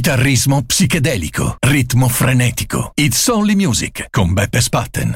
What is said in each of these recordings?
Chitarrismo psichedelico, ritmo frenetico. It's Only Music con Beppe Spatten.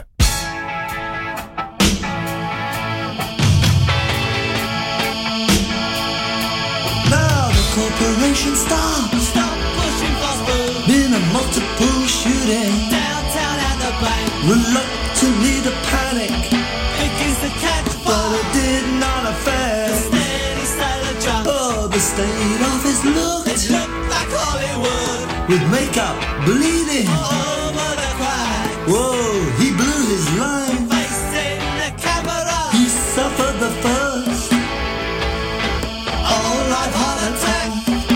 Now the corporation stop pushing faster. Been a multiple shooting downtown at the bank. Reluctantly the panic begins to catch fire, but it did not affect the steady silent drums. Oh, the state office looked like Hollywood, with makeup bleeding all over the crack. Whoa, he blew his line, facing the camera. He suffered the first all-life heart attack.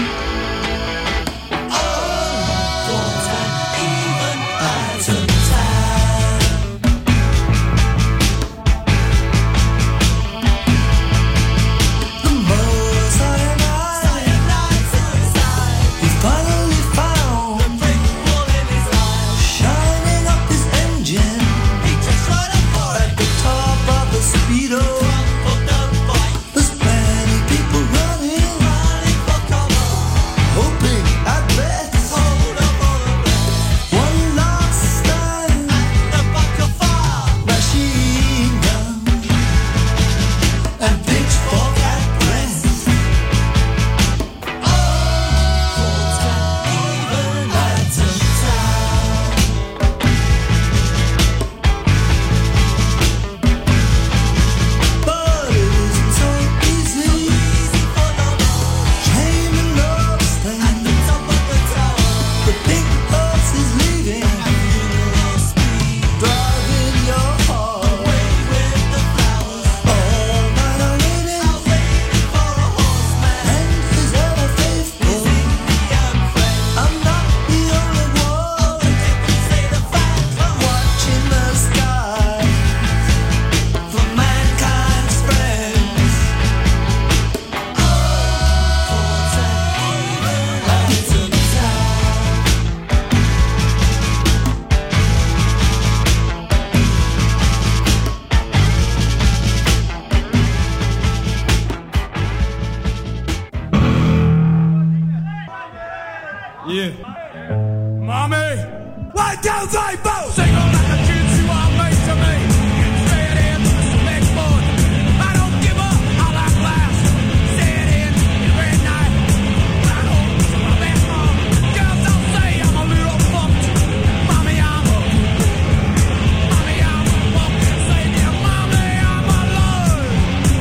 Oh, wasn't even out of time. The more cyanide suicide, he finally found the brick wall in his eye, shining up his engine. He just right up for it at the top of the speedo. There's plenty people running for cover, hoping at best. One last stand and a buck of fire, machine gun and pitchfork at rest. Oh, wasn't even out of time. But it isn't so easy for no one. Chain and love stay at the top of the tower. The big bus is leaving at funeral speed, driving your heart away with the flowers. All night I waited for a horseman, and he's ever faithful. I'm not the only one. Say the fact. Watching the sky for mankind's friends. Oh, wasn't even out of time. Yeah. Mommy! 1, 2, 3, 4! Sing all like a kids you are made to me. Say it in, next board. I don't give up, I like last. Say it in, every night. Right home to my best mom. Girls don't say I'm a little fucked. Mommy, I'm a fucking savior. Mommy, I'm alive.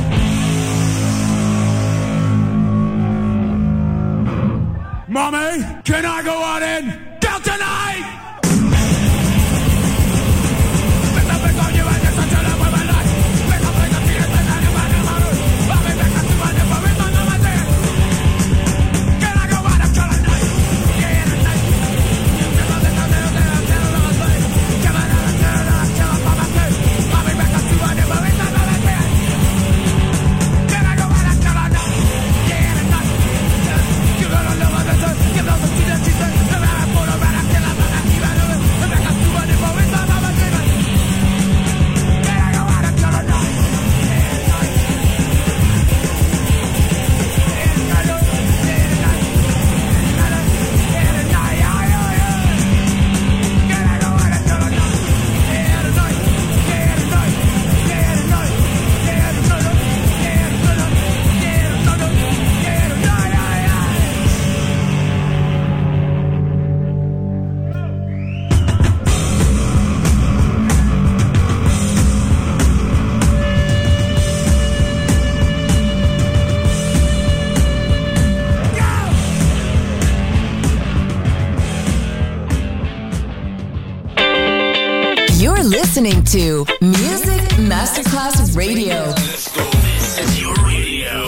Mommy, can I go out and go tonight? You're listening to Music Masterclass Radio. This is your radio.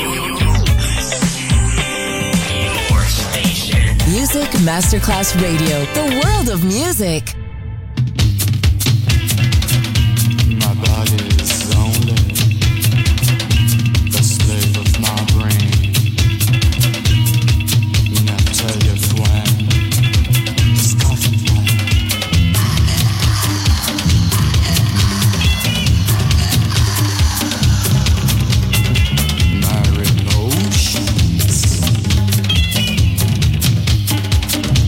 Your station. Music Masterclass Radio, the world of music. My body is only the slave of my brain. Natalia Fouin, Scotland. My emotions.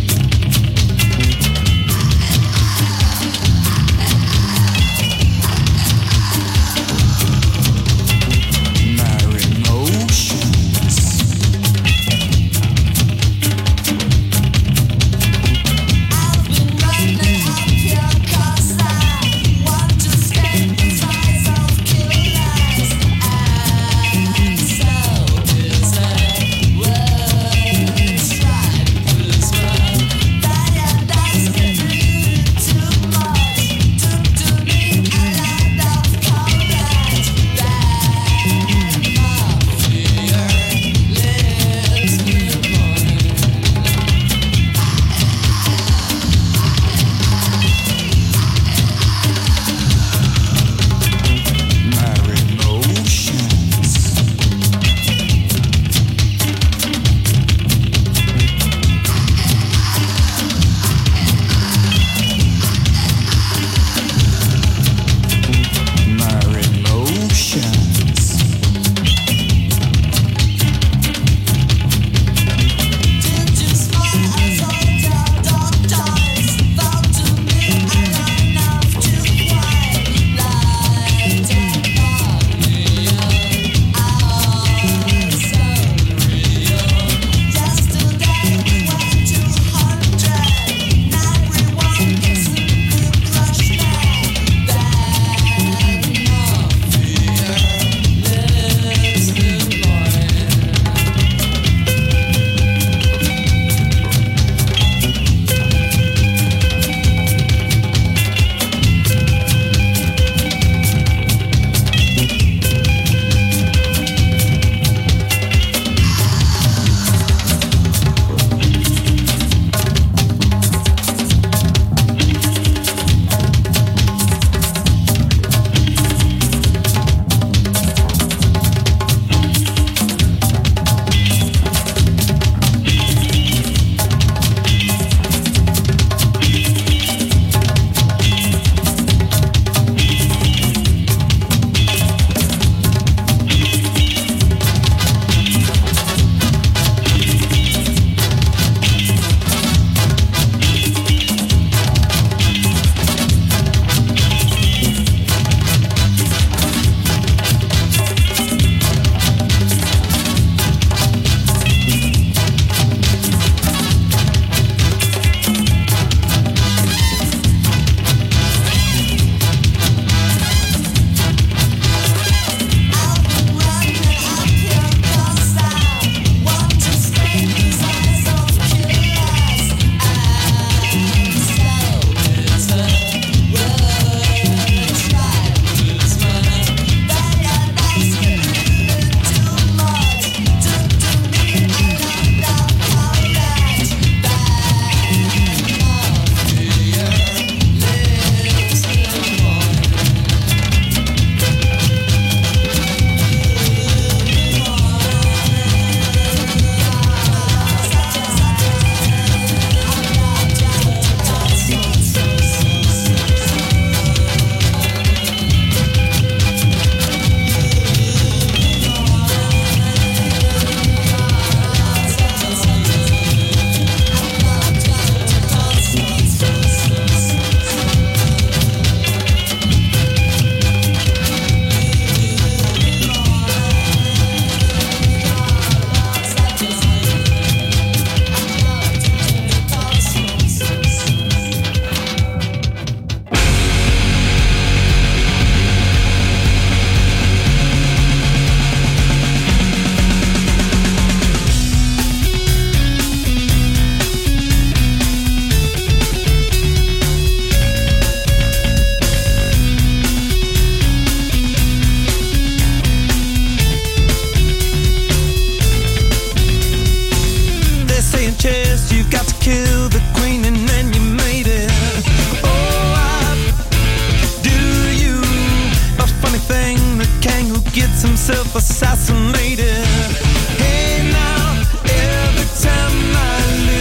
gets himself assassinated. Hey now, every time I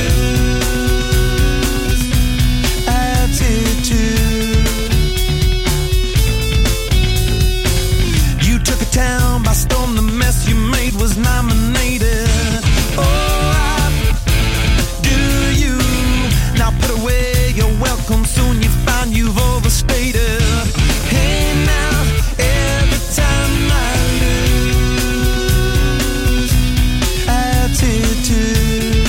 lose attitude. You took a town by storm, the mess you made was nominated. Oh, do you now put away your welcome? Soon you find you've overstated. Hey now, every time I lose attitude.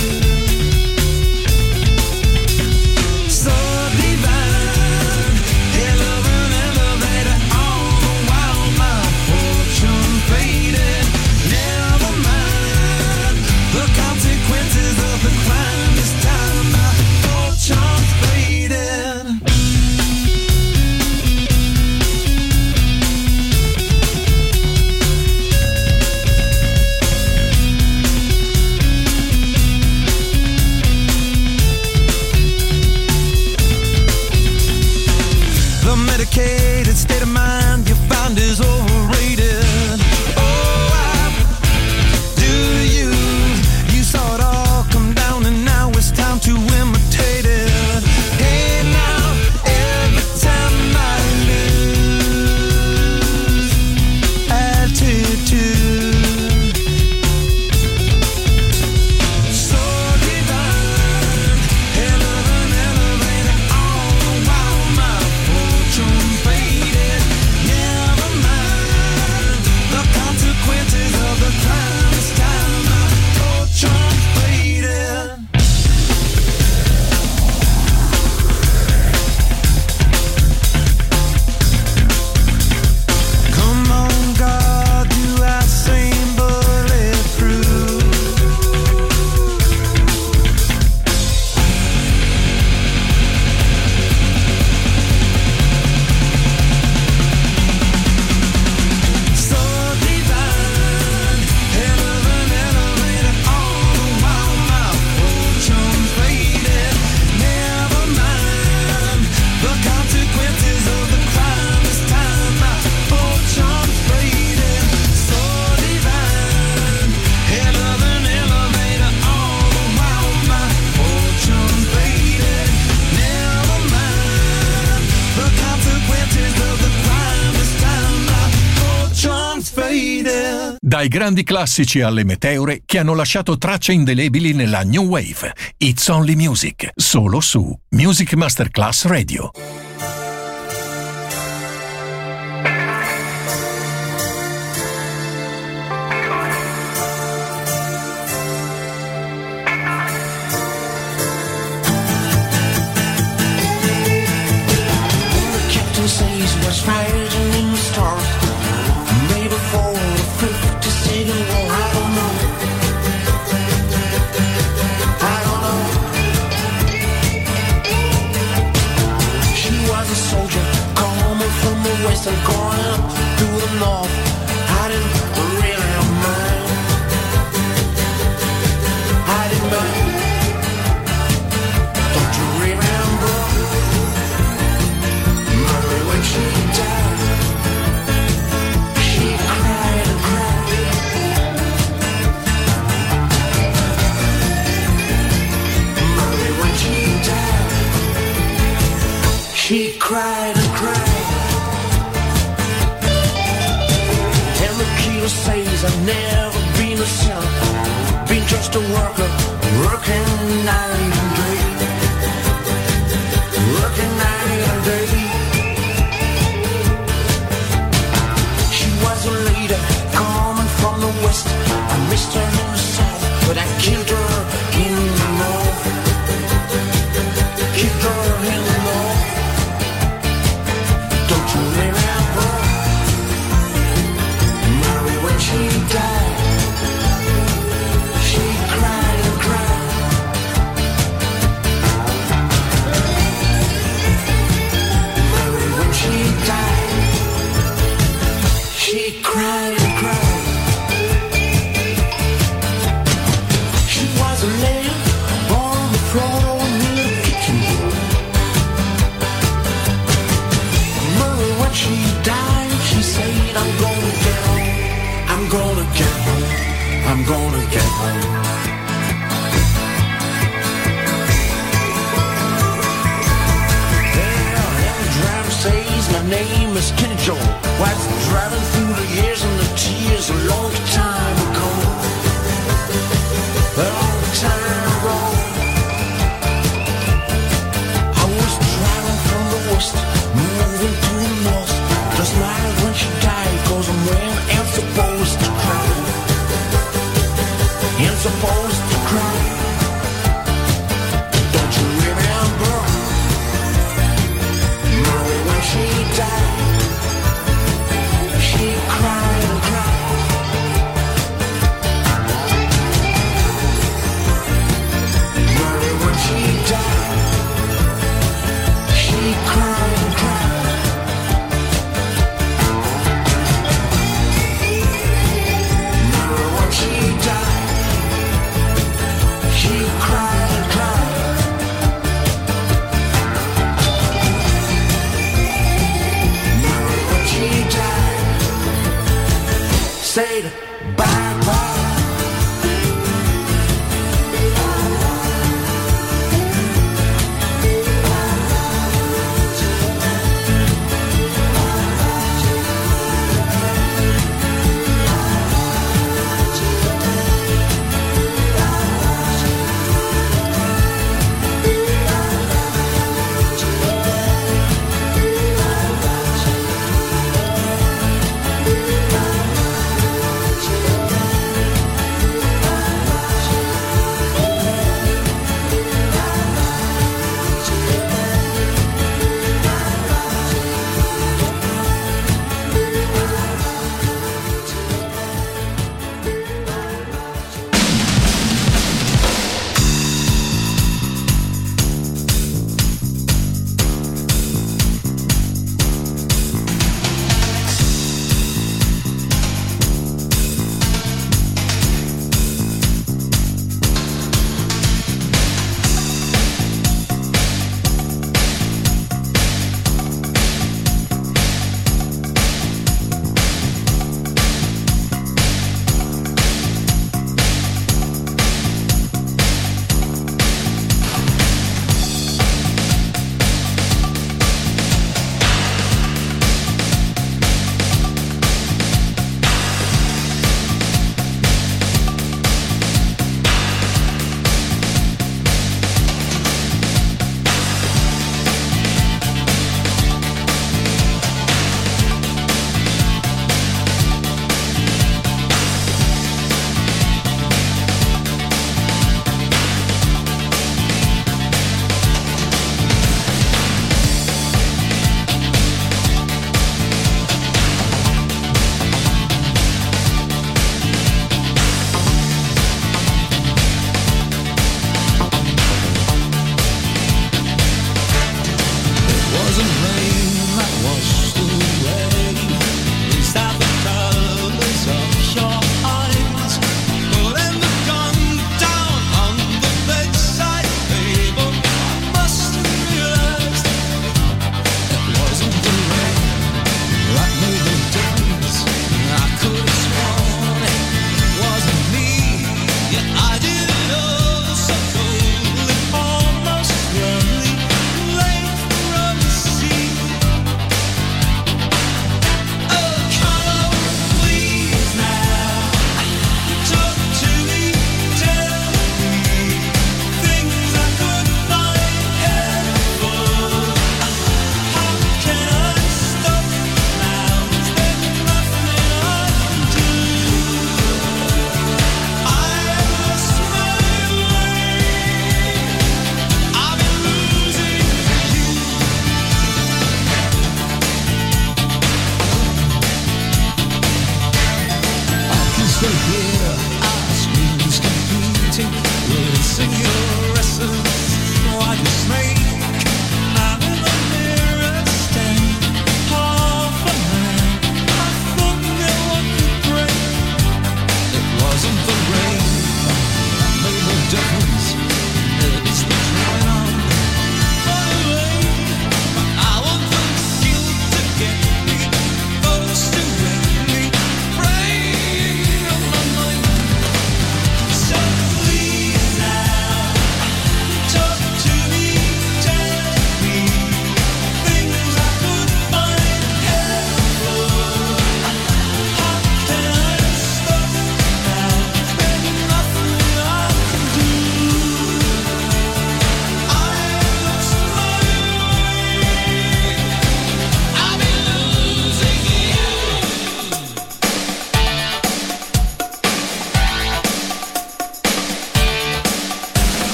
So divine, hell of an elevator, all the while my fortune faded. Never mind the consequences of the crime. This time my fortune faded. The medicated state of mind you find is overrated. Oh, do you? You saw it all come down and now it's time to imitate it. Hey now, every time I lose attitude. So divine, hell of an elevator, all the while my fortune faded. Never mind the consequences of the crime. This time my fortune faded. Come on, God, do I seem bulletproof? So divine, hell of an elevator, all the while my fortune faded. Never mind the consequences of the crime. This time my fortune faded. So divine, hell of an elevator, all the while my fortune faded. Never mind the consequences of the crime. This time my fortune faded. Dai grandi classici alle meteore che hanno lasciato tracce indelebili nella New Wave. It's Only Music, solo su Music Masterclass Radio. The captain says what's fighting in the stars. Maybe for the 52nd war, I don't know. I don't know. She was a soldier coming from the west and going up to the north. I didn't really mind. I didn't mind. Don't you remember? Mary, when she died, she cried and cried. Mary, when she died, she cried and cried. And the killer says I've never been a son, been just a worker, working night and day. Working night and day. She was a lady coming from the west. I missed her in the south, but I killed her in the north. Killed her in the north. Don't you remember? Mary, when she died, she cried and cried. Mary, when she died, she cried and cried. She was a lamb on the floor near the kitchen. Mary, when she died, she said, I'm going down. I'm gonna get home. Says my name is Kenny Joe. Wife's driving through the years and the tears a long time ago. A long time ago. I was driving from the west, moving to the north. Just smiled when she died, 'cause I'm when I'm supposed to cry. I'm supposed to cry. Don't you remember? When she died, she cried and cried. Mary, when she died, she cried and cried. Mary, when she died, she cried and cried. Say bye-bye.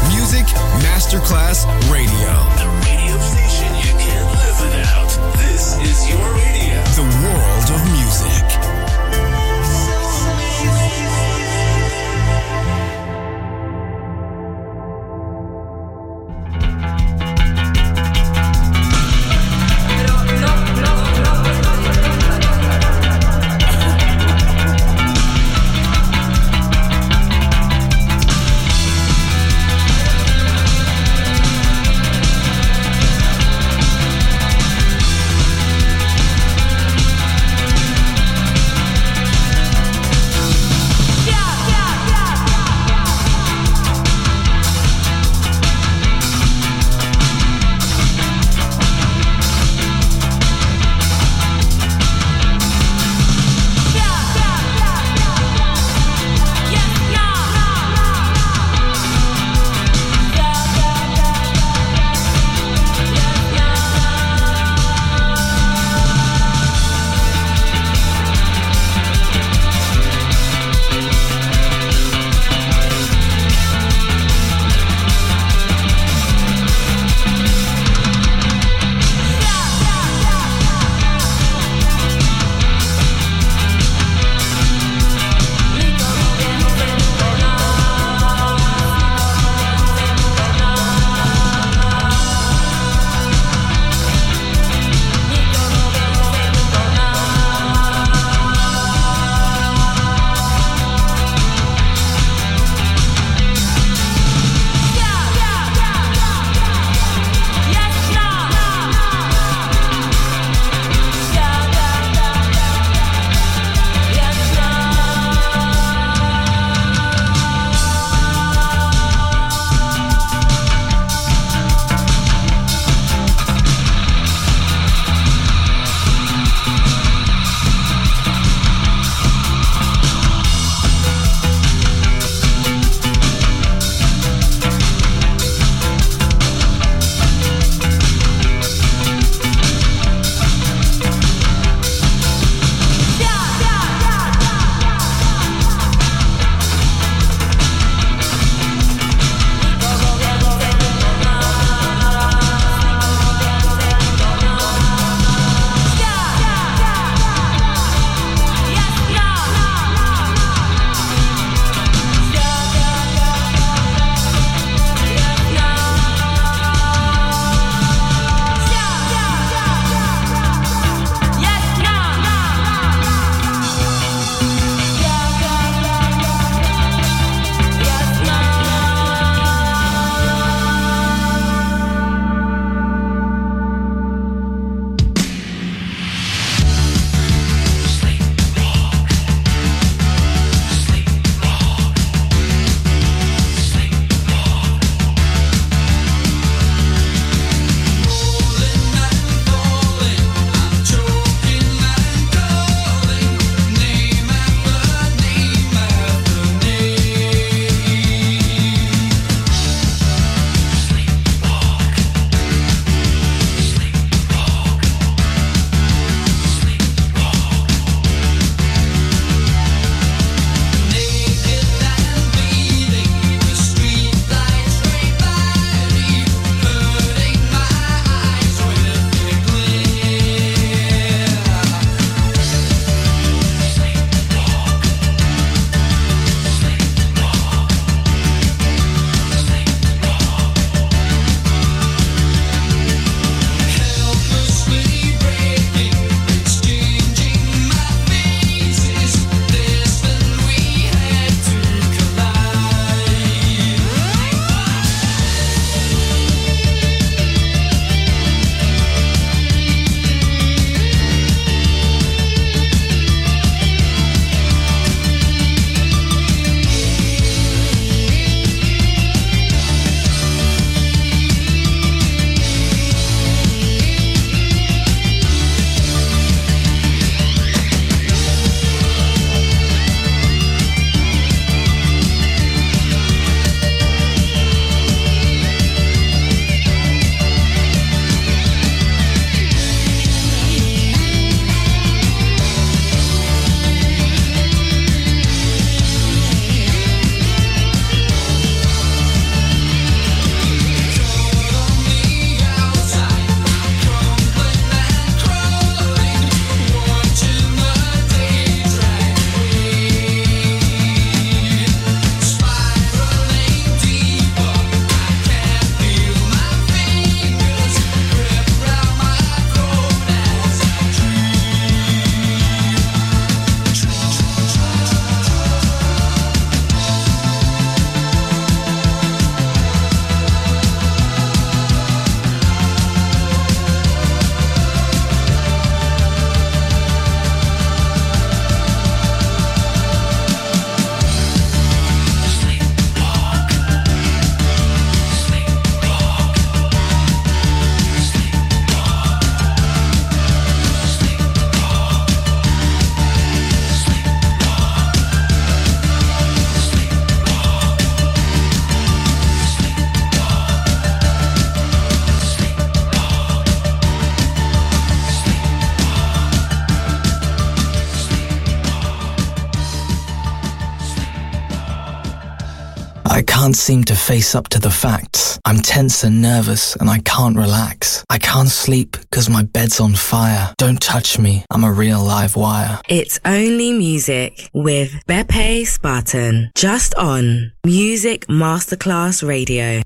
Music Masterclass Radio. The radio station you can't live without. This is your radio. The world of music. can't seem to face up to the facts. I'm tense and nervous and I can't relax. I can't sleep because my bed's on fire. Don't touch me, I'm a real live wire. It's Only Music with Beppe Spartan, just on Music Masterclass Radio.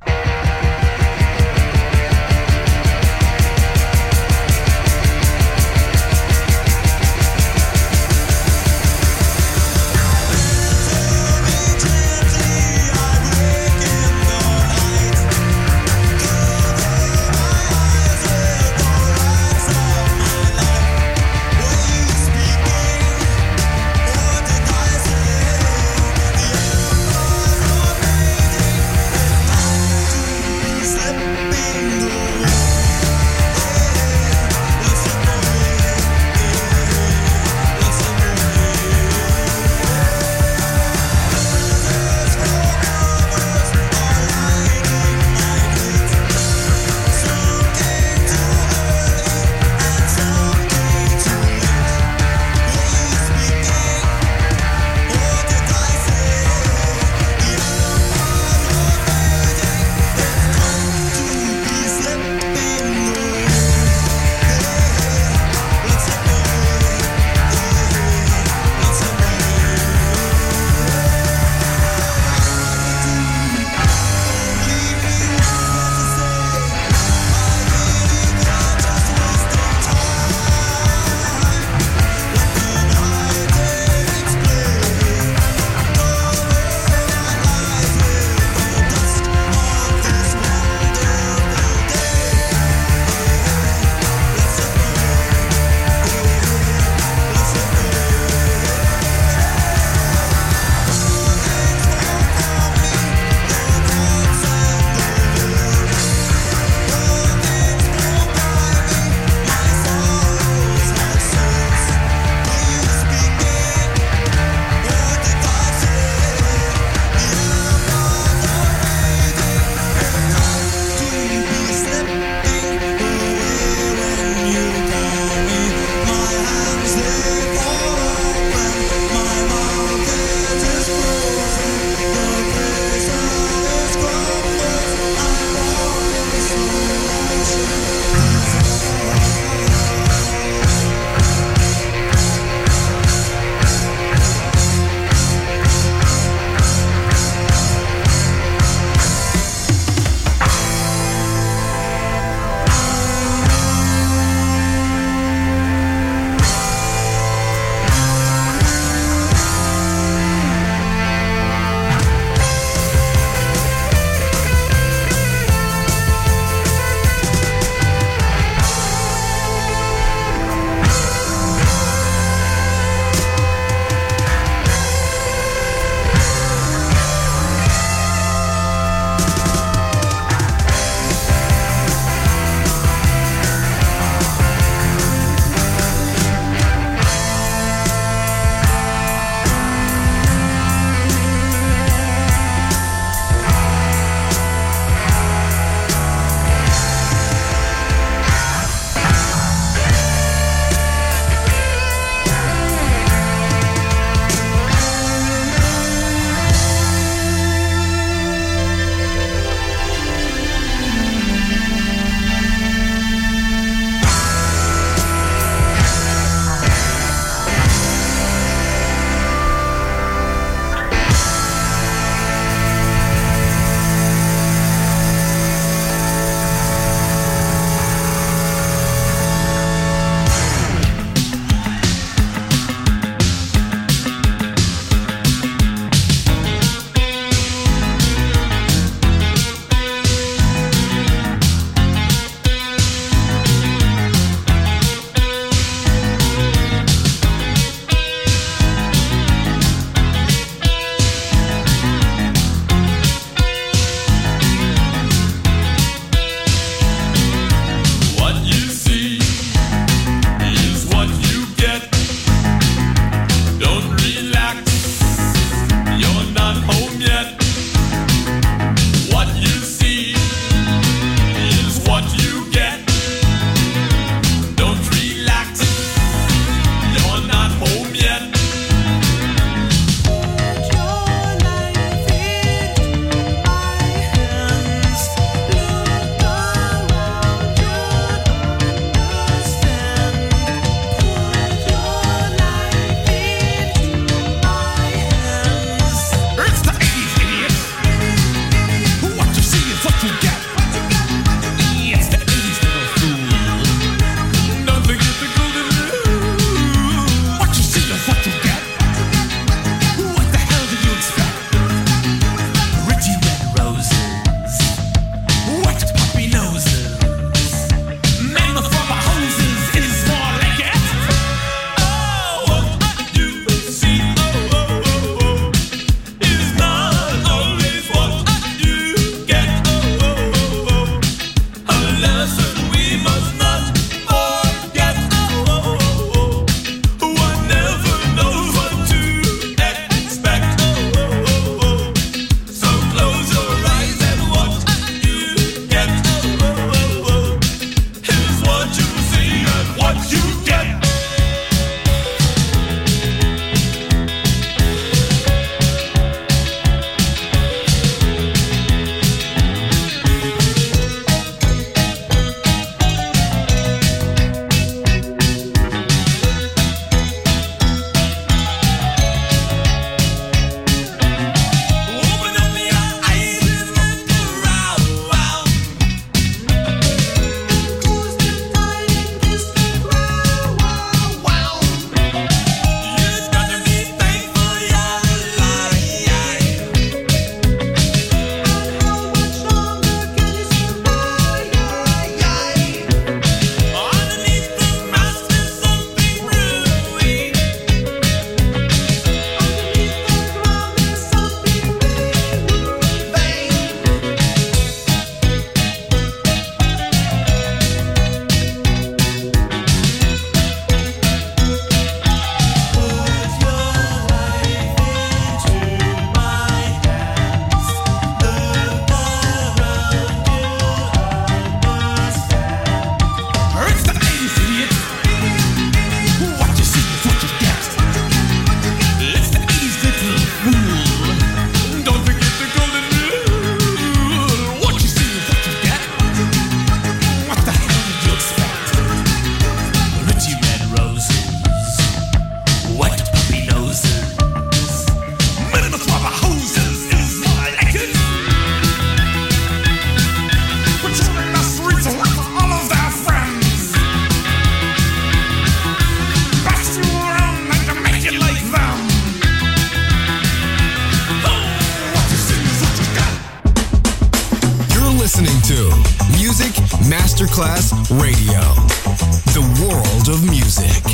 to Music Masterclass Radio, the world of music.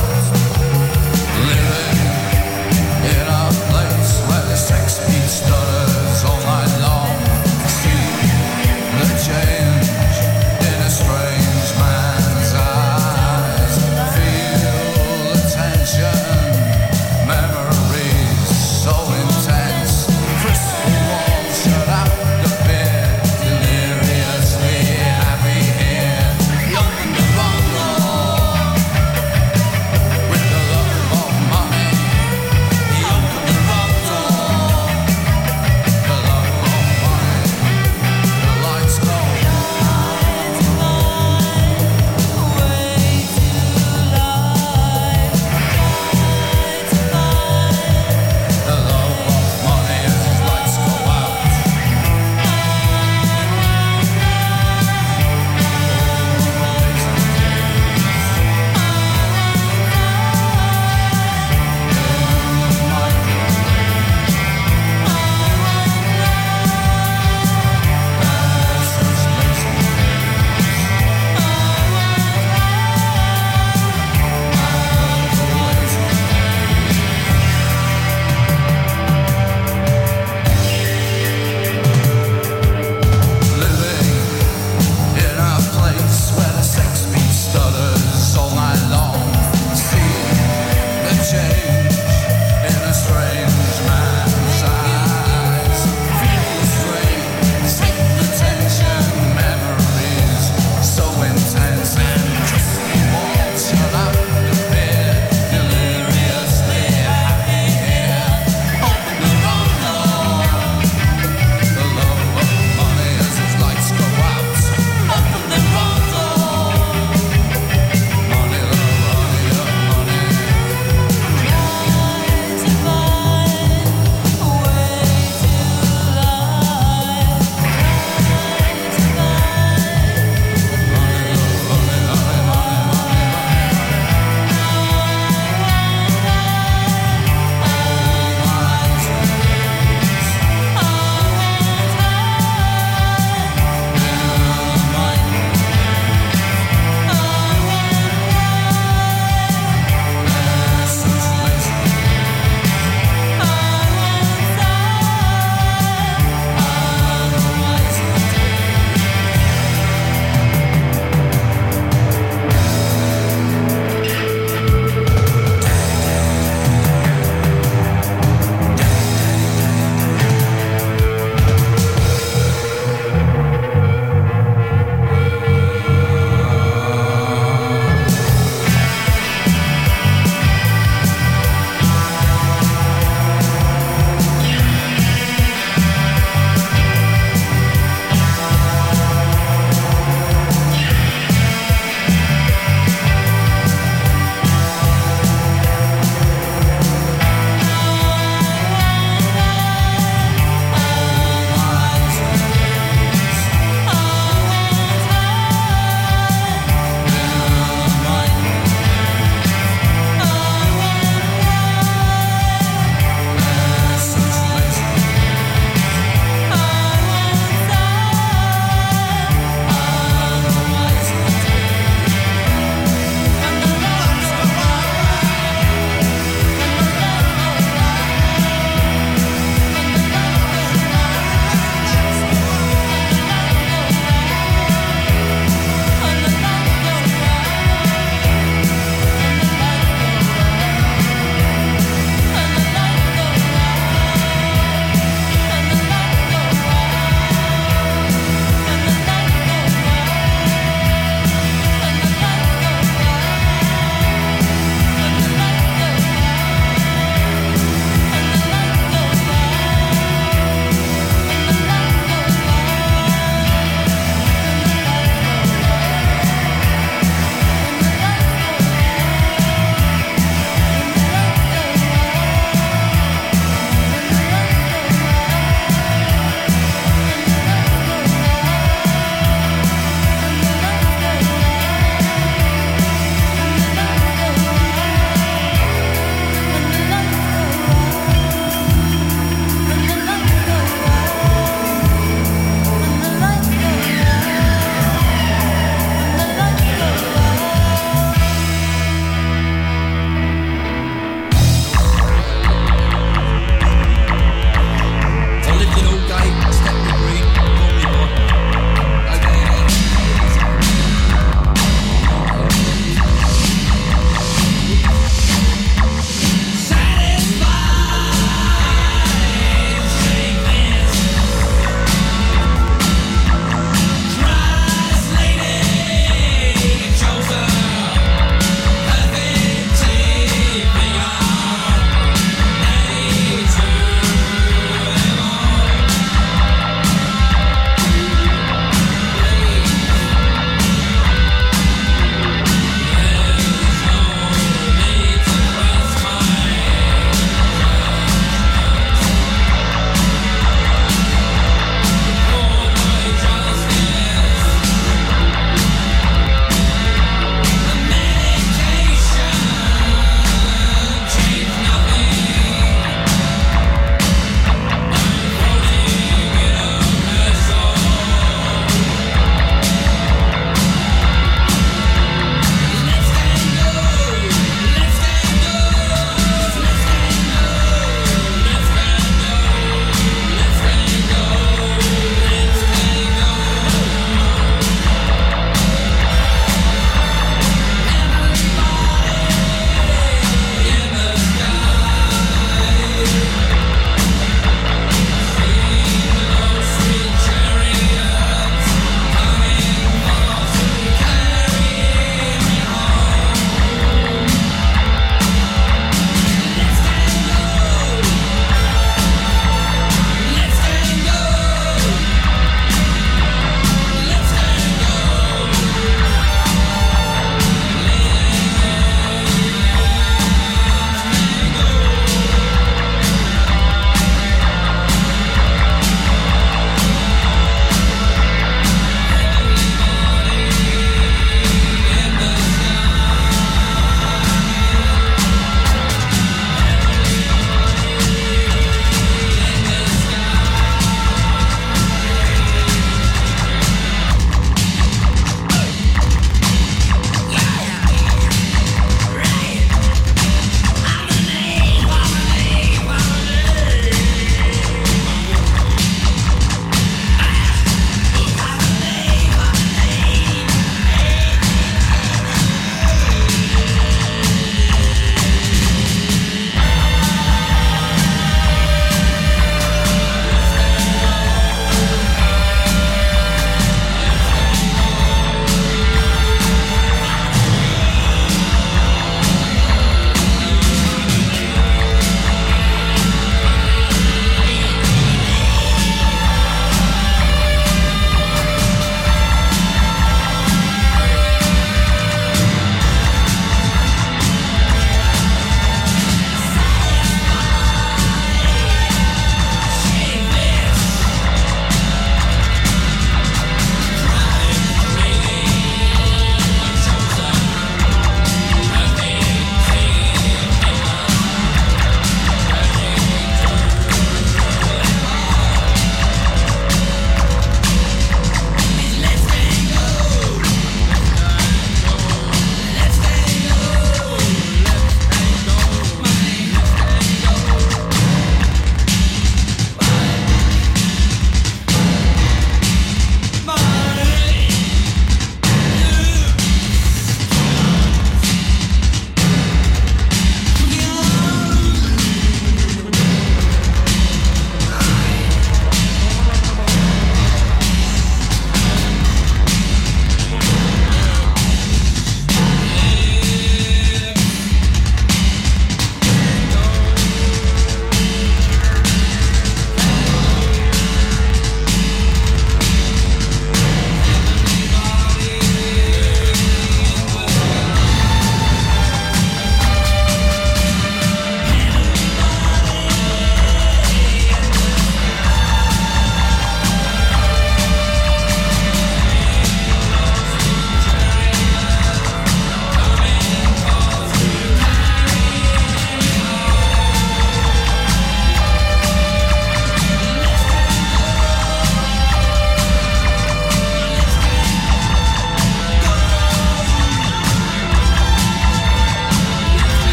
Living in a place where the sex beats done.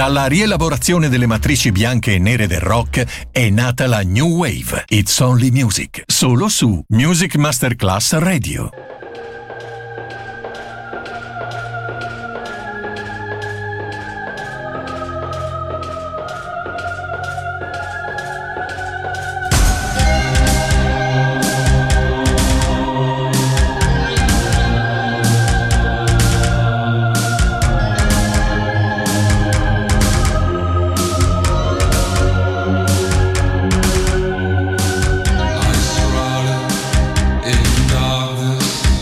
Dalla rielaborazione delle matrici bianche e nere del rock è nata la New Wave. It's Only Music, solo su Music Masterclass Radio. In darkness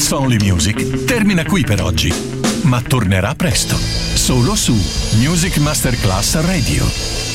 It's Only Music termina qui per oggi, ma tornerà presto, solo su Music Masterclass Radio.